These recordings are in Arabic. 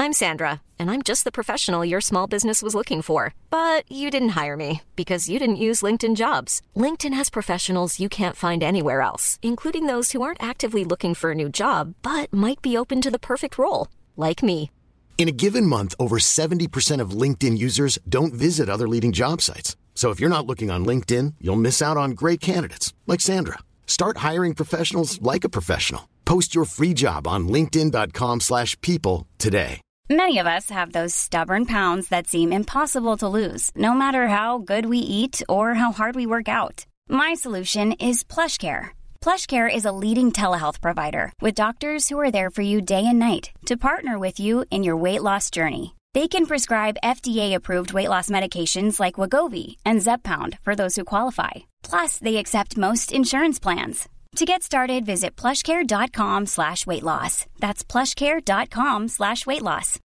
I'm Sandra, and I'm just the professional your small business was looking for. But you didn't hire me because you didn't use LinkedIn Jobs. LinkedIn has professionals you can't find anywhere else, including those who aren't actively looking for a new job, but might be open to the perfect role, like me. In a given month, over 70% of LinkedIn users don't visit other leading job sites. So if you're not looking on LinkedIn, you'll miss out on great candidates like Sandra. Start hiring professionals like a professional. Post your free job on linkedin.com/people today. Many of us have those stubborn pounds that seem impossible to lose, no matter how good we eat or how hard we work out. My solution is PlushCare. PlushCare is a leading telehealth provider with doctors who are there for you day and night to partner with you in your weight loss journey. They can prescribe FDA-approved weight loss medications like Wegovy and Zepbound for those who qualify. Plus, they accept most insurance plans. To get started, visit plushcare.com/weightloss. That's plushcare.com/weightloss.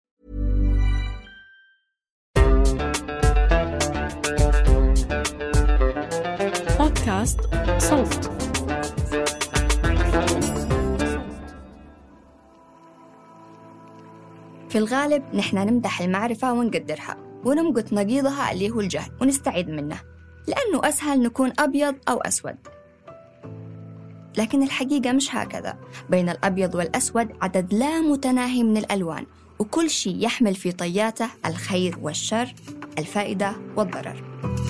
بودكاست صوت. في الغالب نحن نمدح المعرفة ونقدرها ونمقت نقيضها اللي هو الجهل ونستعيد منه، لأنه أسهل نكون أبيض أو أسود. لكن الحقيقة مش هكذا. بين الأبيض والأسود عدد لا متناهي من الألوان، وكل شيء يحمل في طياته الخير والشر، الفائدة والضرر.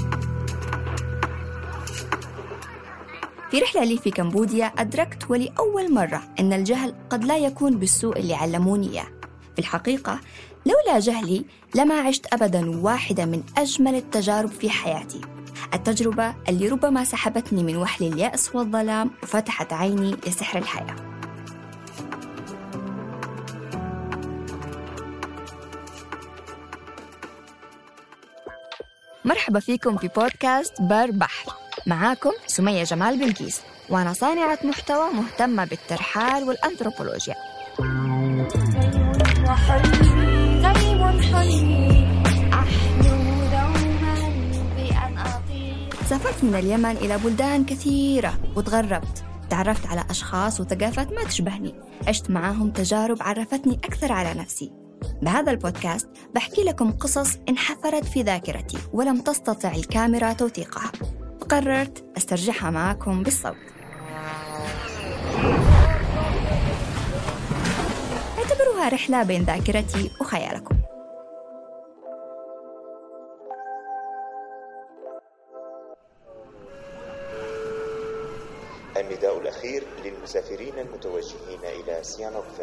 في رحلة لي في كمبوديا أدركت ولأول مرة أن الجهل قد لا يكون بالسوء اللي علموني إياه. في الحقيقة لولا جهلي لما عشت أبداً واحدة من أجمل التجارب في حياتي، التجربة اللي ربما سحبتني من وحل اليأس والظلام وفتحت عيني لسحر الحياة. مرحبا فيكم في بودكاست بر بحر، معاكم سمية جمال بلقيس، وأنا صانعة محتوى مهتمة بالترحال والأنثروبولوجيا. سافرت من اليمن إلى بلدان كثيرة وتغربت، تعرفت على أشخاص وثقافات ما تشبهني، عشت معاهم تجارب عرفتني أكثر على نفسي. بهذا البودكاست بحكي لكم قصص انحفرت في ذاكرتي ولم تستطع الكاميرا توثيقها، وقررت أسترجعها معاكم بالصوت. اعتبروها رحلة بين ذاكرتي وخيالكم. النداء الأخير للمسافرين المتوجهين إلى سيانوكفيل.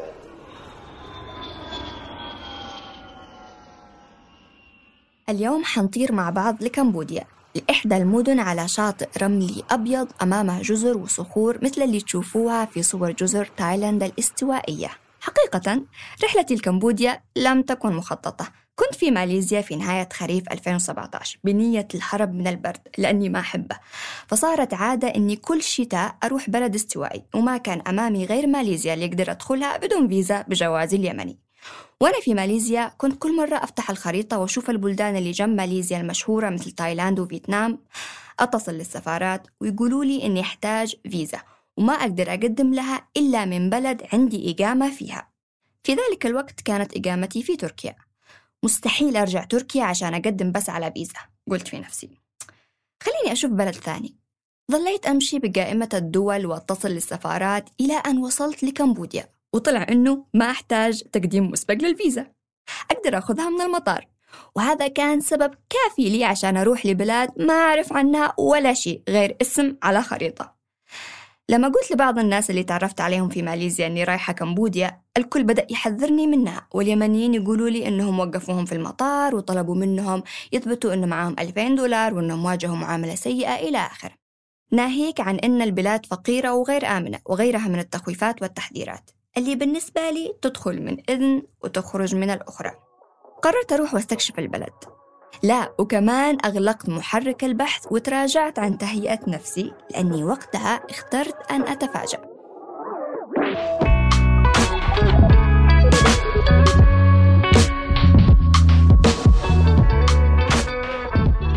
اليوم حنطير مع بعض لكمبوديا، لإحدى المدن على شاطئ رملي أبيض أمامه جزر وصخور مثل اللي تشوفوها في صور جزر تايلاند الاستوائية. حقيقة رحلتي لكمبوديا لم تكن مخططة. كنت في ماليزيا في نهاية خريف 2017 بنية الهرب من البرد لأني ما أحبه، فصارت عادة أني كل شتاء أروح بلد استوائي، وما كان أمامي غير ماليزيا اللي أقدر أدخلها بدون فيزا بجوازي اليمني. وأنا في ماليزيا كنت كل مرة أفتح الخريطة وأشوف البلدان اللي جنب ماليزيا المشهورة مثل تايلاند وفيتنام، أتصل للسفارات ويقولوا لي أني أحتاج فيزا وما أقدر أقدم لها إلا من بلد عندي إقامة فيها. في ذلك الوقت كانت إقامتي في تركيا. مستحيل أرجع تركيا عشان أقدم بس على فيزا، قلت في نفسي خليني أشوف بلد ثاني. ظليت أمشي بقائمة الدول وأتصل للسفارات إلى أن وصلت لكمبوديا، وطلع إنه ما أحتاج تقديم مسبق للفيزا، أقدر أخذها من المطار. وهذا كان سبب كافي لي عشان أروح لبلاد ما أعرف عنها ولا شيء غير اسم على خريطة. لما قلت لبعض الناس اللي تعرفت عليهم في ماليزيا أني رايحة كمبوديا، الكل بدأ يحذرني منها، واليمنيين يقولوا لي أنهم وقفوهم في المطار وطلبوا منهم يثبتوا أنه معهم $2000 وأنهم واجهوا معاملة سيئة إلى آخره، ناهيك عن أن البلاد فقيرة وغير آمنة وغيرها من التخويفات والتحذيرات اللي بالنسبة لي تدخل من إذن وتخرج من الأخرى. قررت أروح واستكشف البلد. لا، وكمان أغلقت محرك البحث وتراجعت عن تهيئة نفسي، لأني وقتها اخترت أن أتفاجأ.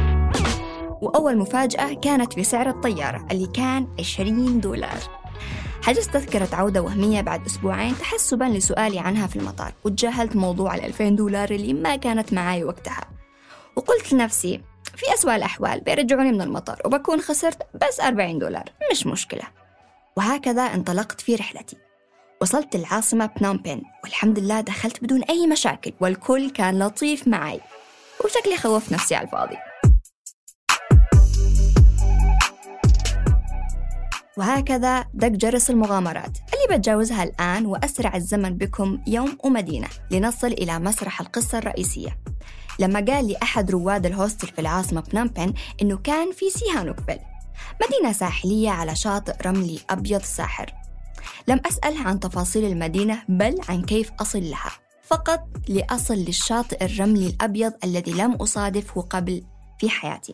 وأول مفاجأة كانت في سعر الطيارة اللي كان $20. حجزت تذكرة عودة وهمية بعد أسبوعين تحسباً لسؤالي عنها في المطار، وتجاهلت موضوع $2000 اللي ما كانت معاي وقتها، وقلت لنفسي في أسوأ الأحوال بيرجعوني من المطار وبكون خسرت بس $40، مش مشكلة. وهكذا انطلقت في رحلتي. وصلت العاصمة بنوم بين، والحمد لله دخلت بدون أي مشاكل، والكل كان لطيف معي، وشكلي خوفت نفسي على الفاضي. وهكذا دق جرس المغامرات اللي بتجاوزها الآن، وأسرع الزمن بكم يوم ومدينة لنصل إلى مسرح القصة الرئيسية. لما قال لي أحد رواد الهوستل في العاصمة بنوم بين إنه كان في سيهانوكفيل، مدينة ساحلية على شاطئ رملي أبيض ساحر. لم أسأله عن تفاصيل المدينة، بل عن كيف أصل لها، فقط لأصل للشاطئ الرملي الأبيض الذي لم أصادفه قبل في حياتي.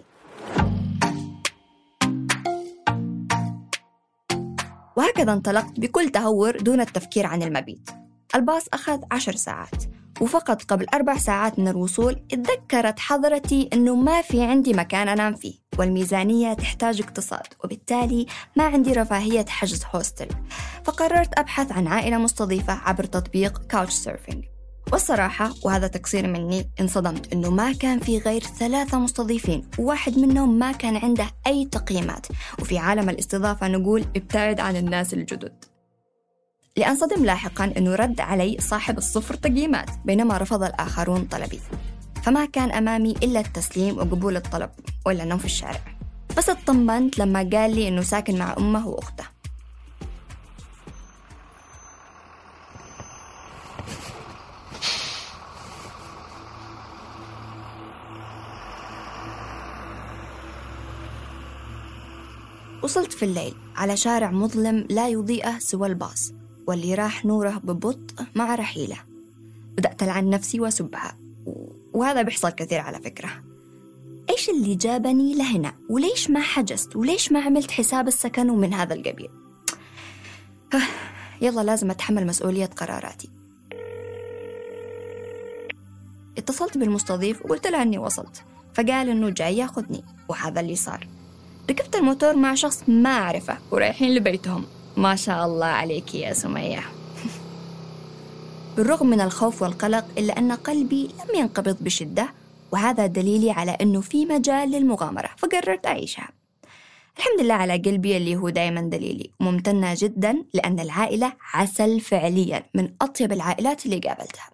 وهكذا انطلقت بكل تهور دون التفكير عن المبيت. الباص أخذ 10 ساعات، وفقط قبل 4 ساعات من الوصول اتذكرت حضرتي أنه ما في عندي مكان أنام فيه، والميزانية تحتاج اقتصاد، وبالتالي ما عندي رفاهية حجز هوستل. فقررت أبحث عن عائلة مستضيفة عبر تطبيق كاوتش سيرفينج. والصراحة وهذا تقصير مني، انصدمت أنه ما كان في غير 3 مستضيفين، وواحد منهم ما كان عنده أي تقييمات، وفي عالم الاستضافة نقول ابتعد عن الناس الجدد. لأنصدم لاحقاً أنه رد علي صاحب ال0 تقييمات، بينما رفض الآخرون طلبي. فما كان أمامي إلا التسليم وقبول الطلب، ولا النوم في الشارع. بس اطمنت لما قال لي أنه ساكن مع أمه وأخته. وصلت في الليل على شارع مظلم لا يضيئه سوى الباص، واللي راح نوره ببطء مع رحيله. بدأت ألعن نفسي وأسبها، وهذا بيحصل كثير على فكرة. إيش اللي جابني لهنا؟ وليش ما حجزت؟ وليش ما عملت حساب السكن ومن هذا القبيل؟ يلا لازم أتحمل مسؤولية قراراتي. اتصلت بالمستضيف وقلت له أني وصلت، فقال أنه جاي ياخذني، وهذا اللي صار. ركبت الموتور مع شخص ما أعرفه ورايحين لبيتهم. ما شاء الله عليك يا سمية. بالرغم من الخوف والقلق إلا أن قلبي لم ينقبض بشدة، وهذا دليلي على أنه في مجال للمغامرة، فقررت أعيشها. الحمد لله على قلبي اللي هو دايما دليلي، وممتنة جدا لأن العائلة عسل فعليا، من أطيب العائلات اللي قابلتها.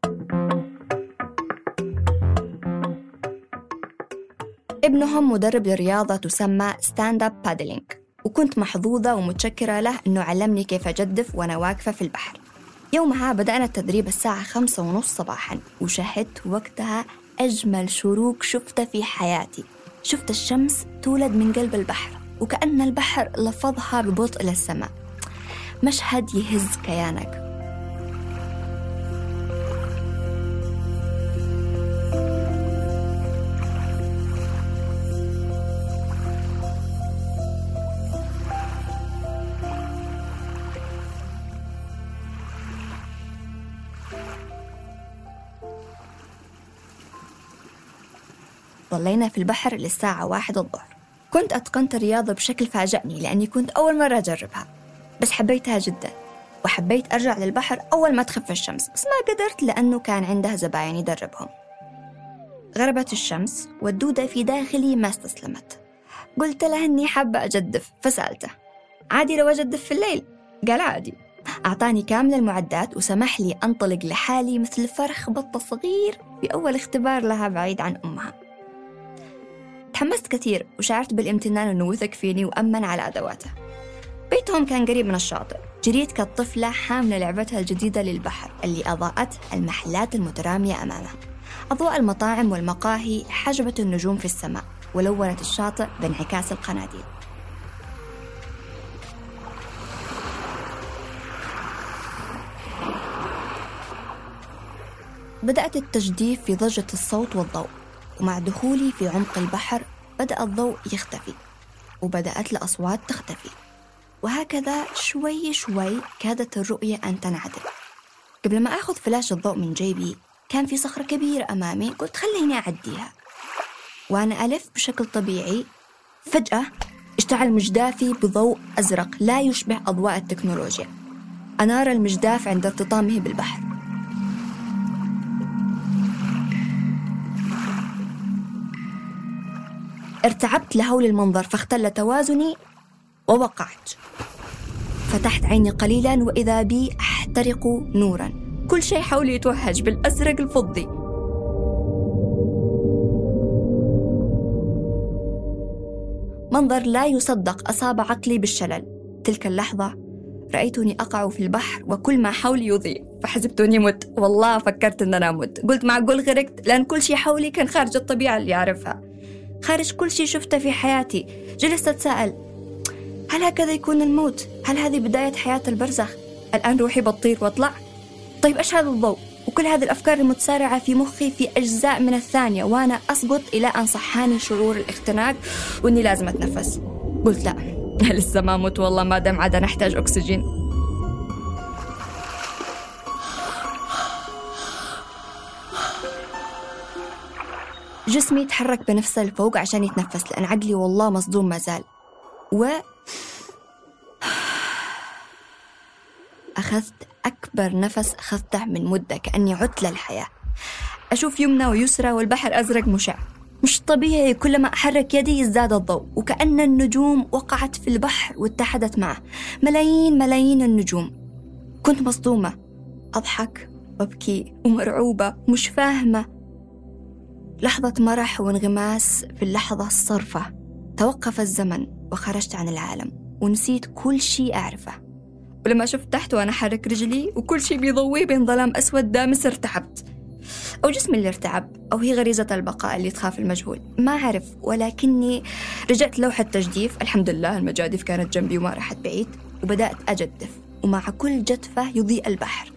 ابنهم مدرب لرياضة تسمى ستاند اب بادلينج، وكنت محظوظة ومتشكرة له أنه علمني كيف أجدف وأنا واقفة في البحر. يومها بدأنا التدريب الساعة 5:30 صباحا، وشاهدت وقتها أجمل شروق شفته في حياتي. شفت الشمس تولد من قلب البحر، وكأن البحر لفظها ببطء للسماء. مشهد يهز كيانك. ظلينا في البحر للساعة 1 الظهر. كنت أتقنت الرياضة بشكل فاجأني، لأني كنت أول مرة أجربها، بس حبيتها جدا، وحبيت أرجع للبحر أول ما تخف الشمس، بس ما قدرت لأنه كان عنده زباين يدربهم. غربت الشمس والدودة في داخلي ما استسلمت. قلت له أني حابة أجدف، فسألته عادي لو أجدف في الليل؟ قال عادي. أعطاني كامل المعدات وسمح لي أنطلق لحالي مثل فرخ بطة صغير في أول اختبار لها بعيد عن أمها. تحمست كثير وشعرت بالامتنان أنه وثق فيني وأمن على أدواته. بيتهم كان قريب من الشاطئ. جريت كالطفلة حاملة لعبتها الجديدة للبحر اللي أضاءت المحلات المترامية أمامها. أضواء المطاعم والمقاهي حجبت النجوم في السماء، ولونت الشاطئ بانعكاس القناديل. بدأت التجديف في ضجة الصوت والضوء، ومع دخولي في عمق البحر بدأ الضوء يختفي، وبدأت الأصوات تختفي، وهكذا شوي شوي كادت الرؤية أن تنعدم. قبل ما أخذ فلاش الضوء من جيبي كان في صخرة كبيرة أمامي، قلت خليني أعديها. وأنا ألف بشكل طبيعي، فجأة اشتعل مجدافي بضوء أزرق لا يشبه أضواء التكنولوجيا. أنار المجداف عند ارتطامه بالبحر. ارتعبت لهول المنظر فاختل توازني ووقعت. فتحت عيني قليلا وإذا بي أحترق نورا، كل شيء حولي يتوهج بالأزرق الفضي. منظر لا يصدق أصاب عقلي بالشلل. تلك اللحظة رأيتني أقع في البحر وكل ما حولي يضيء، فحسبتني مت. والله فكرت أن أنا مت، قلت معقول غرقت، لأن كل شيء حولي كان خارج الطبيعة اللي أعرفها، خارج كل شيء شفته في حياتي. جلست أتساءل، هل هكذا يكون الموت؟ هل هذه بداية حياة البرزخ؟ الآن روحي بتطير وأطلع؟ طيب إيش هذا الضوء؟ وكل هذه الأفكار المتسارعة في مخي في أجزاء من الثانية وأنا أسقط، إلى أن صحاني شعور الاختناق وإني لازم أتنفس. قلت لا، لسه ما مت والله، ما دام عاد نحتاج أكسجين. جسمي يتحرك بنفسه لفوق عشان يتنفس، لأن عقلي والله مصدوم ما زال. أخذت أكبر نفس أخذته من مدة، كأني عدت للحياة. أشوف يمنى ويسرى والبحر أزرق مشع، مش طبيعي. كلما أحرك يدي يزداد الضوء، وكأن النجوم وقعت في البحر واتحدت معه، ملايين النجوم. كنت مصدومة، أضحك وأبكي ومرعوبة ومش فاهمة. لحظة مرح وانغماس في اللحظة الصرفة. توقف الزمن وخرجت عن العالم ونسيت كل شيء أعرفه. ولما شفت تحت وأنا حرك رجلي وكل شيء بيضوي بين ظلام أسود دامس، ارتعبت، أو جسمي اللي ارتعب، أو هي غريزة البقاء اللي تخاف المجهول، ما أعرف. ولكني رجعت لوحة تجديف، الحمد لله المجاديف كانت جنبي وما راحت بعيد، وبدأت أجدف، ومع كل جدفة يضيء البحر.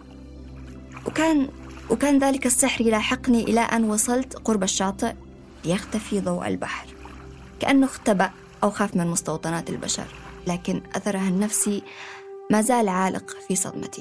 وكان ذلك السحر يلاحقني إلى أن وصلت قرب الشاطئ ليختفي ضوء البحر، كأنه اختبأ أو خاف من مستوطنات البشر، لكن أثرها النفسي ما زال عالق في صدمتي.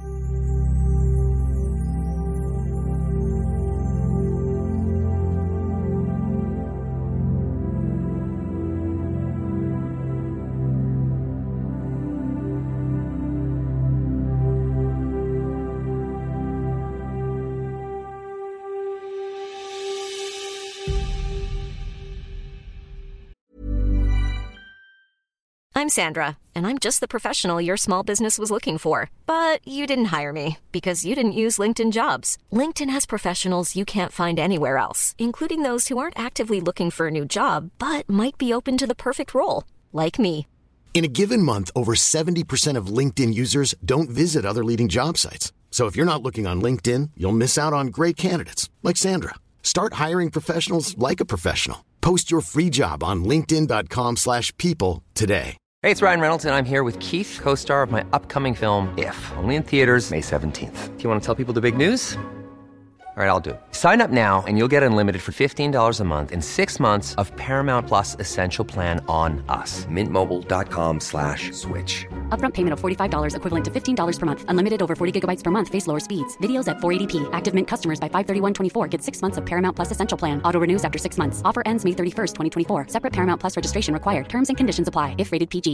I'm Sandra, and I'm just the professional your small business was looking for. But you didn't hire me because you didn't use LinkedIn Jobs. LinkedIn has professionals you can't find anywhere else, including those who aren't actively looking for a new job, but might be open to the perfect role, like me. In a given month, over 70% of LinkedIn users don't visit other leading job sites. So if you're not looking on LinkedIn, you'll miss out on great candidates like Sandra. Start hiring professionals like a professional. Post your free job on linkedin.com/people today. Hey, it's Ryan Reynolds, and I'm here with Keith, co-star of my upcoming film, If, only in theaters May 17th. Do you want to tell people the big news? All right, I'll do it. Sign up now and you'll get unlimited for $15 a month and 6 months of Paramount Plus Essential Plan on us. MintMobile.com/switch. Upfront payment of $45 equivalent to $15 per month. Unlimited over 40 gigabytes per month. Face lower speeds. Videos at 480p. Active Mint customers by 531.24 get 6 months of Paramount Plus Essential Plan. Auto renews after 6 months. Offer ends May 31st, 2024. Separate Paramount Plus registration required. Terms and conditions apply if rated PG.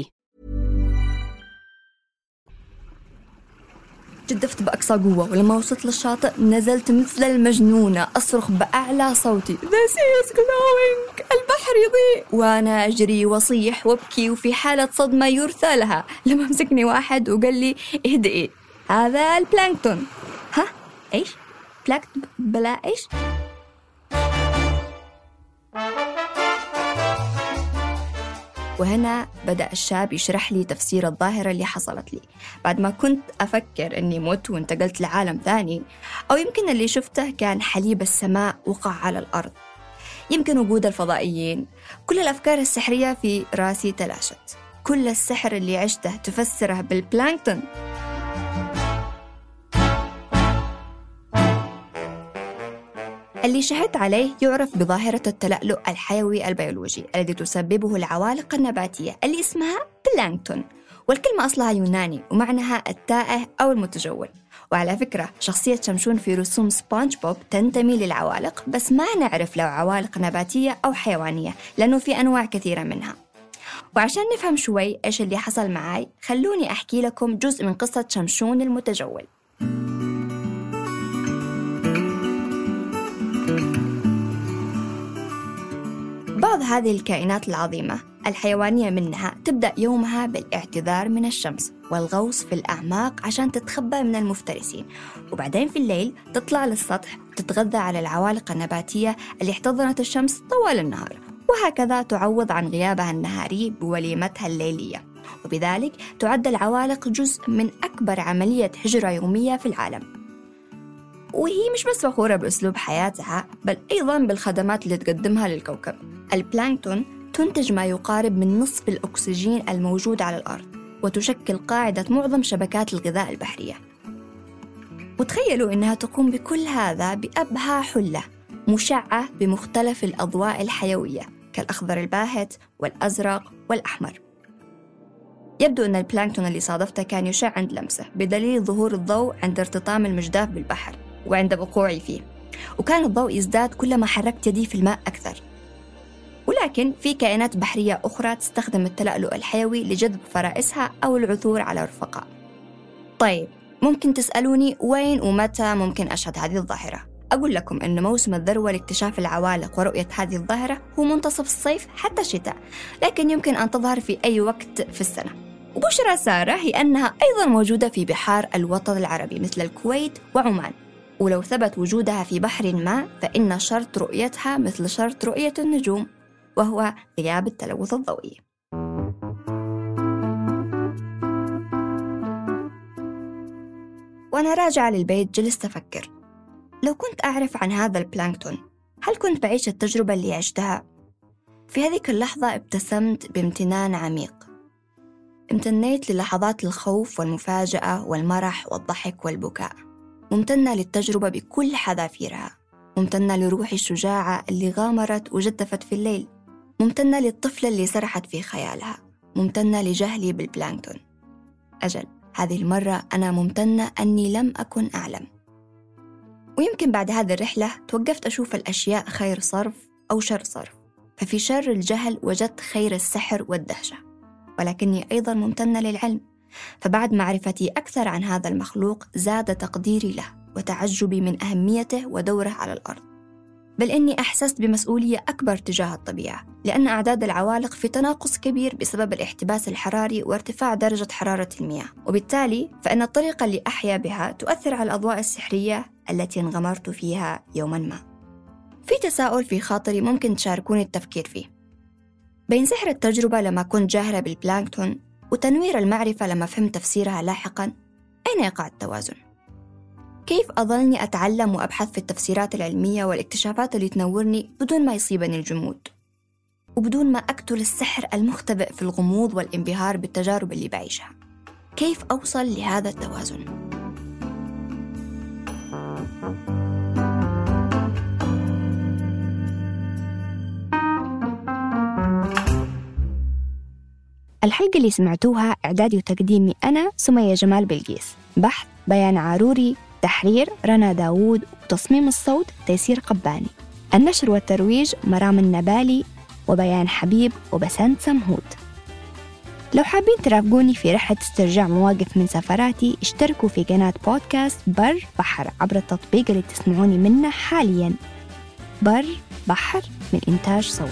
جدفت بأقصى قوة، ولما وصلت للشاطئ نزلت مثل المجنونة أصرخ بأعلى صوتي This is glowing، البحر يضيء، وأنا أجري وصيح وابكي وفي حالة صدمة يرثى لها، لما مسكني واحد وقال لي اهدئي، هذا البلانكتون. ها؟ إيش؟ بلا إيش؟ وهنا بدأ الشاب يشرح لي تفسير الظاهرة اللي حصلت لي، بعد ما كنت أفكر أني مت وانتقلت لعالم ثاني، أو يمكن اللي شفته كان حليب السماء وقع على الأرض، يمكن وجود الفضائيين. كل الأفكار السحرية في راسي تلاشت، كل السحر اللي عشته تفسره بالبلانكتون. اللي شهدت عليه يعرف بظاهرة التلألؤ الحيوي البيولوجي الذي تسببه العوالق النباتية اللي اسمها بلانكتون، والكلمة أصلها يوناني ومعناها التائه أو المتجول. وعلى فكرة شخصية شمشون في رسوم سبونج بوب تنتمي للعوالق، بس ما نعرف لو عوالق نباتية أو حيوانية لأنه في أنواع كثيرة منها. وعشان نفهم شوي إيش اللي حصل معاي، خلوني أحكي لكم جزء من قصة شمشون المتجول. بعض هذه الكائنات العظيمة الحيوانية منها تبدأ يومها بالاعتذار من الشمس والغوص في الأعماق عشان تتخبى من المفترسين، وبعدين في الليل تطلع للسطح وتتغذى على العوالق النباتية اللي احتضنت الشمس طوال النهار، وهكذا تعوض عن غيابها النهاري بوليمتها الليلية. وبذلك تعد العوالق جزء من أكبر عملية هجرة يومية في العالم. وهي مش بس فخورة بأسلوب حياتها، بل أيضاً بالخدمات اللي تقدمها للكوكب. البلانكتون تنتج ما يقارب من نصف الأكسجين الموجود على الأرض، وتشكل قاعدة معظم شبكات الغذاء البحرية. وتخيلوا إنها تقوم بكل هذا بأبهى حلة مشعة بمختلف الأضواء الحيوية كالأخضر الباهت والأزرق والأحمر. يبدو أن البلانكتون اللي صادفته كان يشع عند لمسه، بدليل ظهور الضوء عند ارتطام المجداف بالبحر وعند وقوعي فيه، وكان الضوء يزداد كلما حركت يدي في الماء أكثر. ولكن في كائنات بحرية أخرى تستخدم التلألؤ الحيوي لجذب فرائسها أو العثور على رفقاء. طيب، ممكن تسألوني وين ومتى ممكن أشهد هذه الظاهرة؟ أقول لكم أن موسم الذروة لاكتشاف العوالق ورؤية هذه الظاهرة هو منتصف الصيف حتى الشتاء، لكن يمكن أن تظهر في أي وقت في السنة. وبشرى سارة هي أنها أيضاً موجودة في بحار الوطن العربي مثل الكويت وعمان، ولو ثبت وجودها في بحر ما فإن شرط رؤيتها مثل شرط رؤية النجوم، وهو غياب التلوث الضوئي. وأنا راجعة للبيت جلست أفكر، لو كنت أعرف عن هذا البلانكتون هل كنت بعيش التجربة اللي عشتها؟ في هذه اللحظة ابتسمت بامتنان عميق. امتنيت للحظات الخوف والمفاجأة والمرح والضحك والبكاء، ممتنة للتجربة بكل حذافيرها، ممتنة لروحي الشجاعة اللي غامرت وجدفت في الليل، ممتنة للطفلة اللي سرحت في خيالها، ممتنة لجهلي بالبلانكتون. أجل، هذه المرة أنا ممتنة أني لم أكن أعلم. ويمكن بعد هذه الرحلة توقفت أشوف الأشياء خير صرف أو شر صرف، ففي شر الجهل وجدت خير السحر والدهشة. ولكني أيضاً ممتنة للعلم، فبعد معرفتي أكثر عن هذا المخلوق زاد تقديري له وتعجبي من أهميته ودوره على الأرض. بل إني أحسست بمسؤولية أكبر تجاه الطبيعة، لأن أعداد العوالق في تناقص كبير بسبب الاحتباس الحراري وارتفاع درجة حرارة المياه، وبالتالي فإن الطريقة اللي أحيا بها تؤثر على الأضواء السحرية التي انغمرت فيها يوماً ما. في تساؤل في خاطري ممكن تشاركوني التفكير فيه، بين سحر التجربة لما كنت جاهلة بالبلانكتون وتنوير المعرفة لما فهمت تفسيرها لاحقاً، أين يقع التوازن؟ كيف أظلني أتعلم وأبحث في التفسيرات العلمية والاكتشافات اللي تنورني بدون ما يصيبني الجمود، وبدون ما أقتل السحر المختبئ في الغموض والانبهار بالتجارب اللي بعيشها؟ كيف أوصل لهذا التوازن؟ الحلقة اللي سمعتوها إعدادي وتقديمي أنا سمية جمال بلقيس، بحث بيان عاروري، تحرير رنا داوود، وتصميم الصوت تيسير قباني، النشر والترويج مرام النبالي وبيان حبيب وبسنت سمهود. لو حابين ترافقوني في رحلة استرجاع مواقف من سفراتي، اشتركوا في قناة بودكاست بر بحر عبر التطبيق اللي تسمعوني منه حالياً. بر بحر من إنتاج صوت.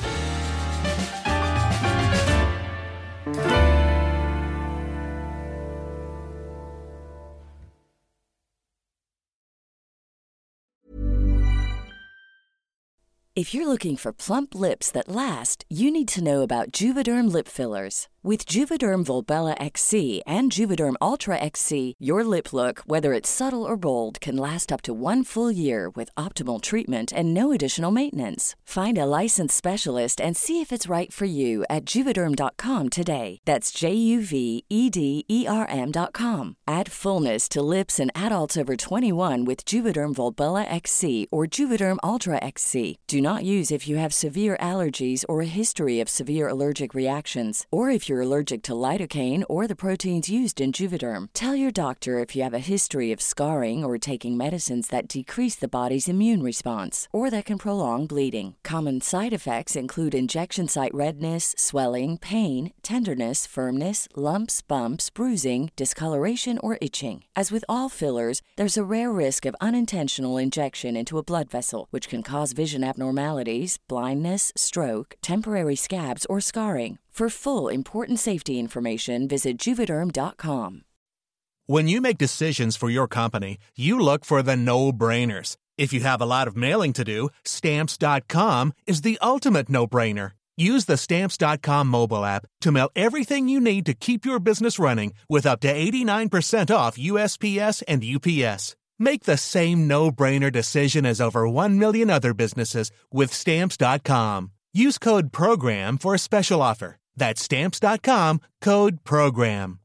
If you're looking for plump lips that last, you need to know about Juvederm lip fillers. With Juvederm Volbella XC and Juvederm Ultra XC, your lip look, whether it's subtle or bold, can last up to 1 full year with optimal treatment and no additional maintenance. Find a licensed specialist and see if it's right for you at Juvederm.com today. That's JUVEDERM.com. Add fullness to lips in adults over 21 with Juvederm Volbella XC or Juvederm Ultra XC. Do Do not use if you have severe allergies or a history of severe allergic reactions, or if you're allergic to lidocaine or the proteins used in Juvederm. Tell your doctor if you have a history of scarring or taking medicines that decrease the body's immune response or that can prolong bleeding. Common side effects include injection site redness, swelling, pain, tenderness, firmness, lumps, bumps, bruising, discoloration, or itching. As with all fillers, there's a rare risk of unintentional injection into a blood vessel, which can cause vision abnormalities, blindness, stroke, temporary scabs, or scarring. For full important safety information, visit Juvederm.com. When you make decisions for your company, you look for the no-brainers. If you have a lot of mailing to do, Stamps.com is the ultimate no-brainer. Use the Stamps.com mobile app to mail everything you need to keep your business running with up to 89% off USPS and UPS. Make the same no-brainer decision as over 1 million other businesses with Stamps.com. Use code PROGRAM for a special offer. That's Stamps.com, code PROGRAM.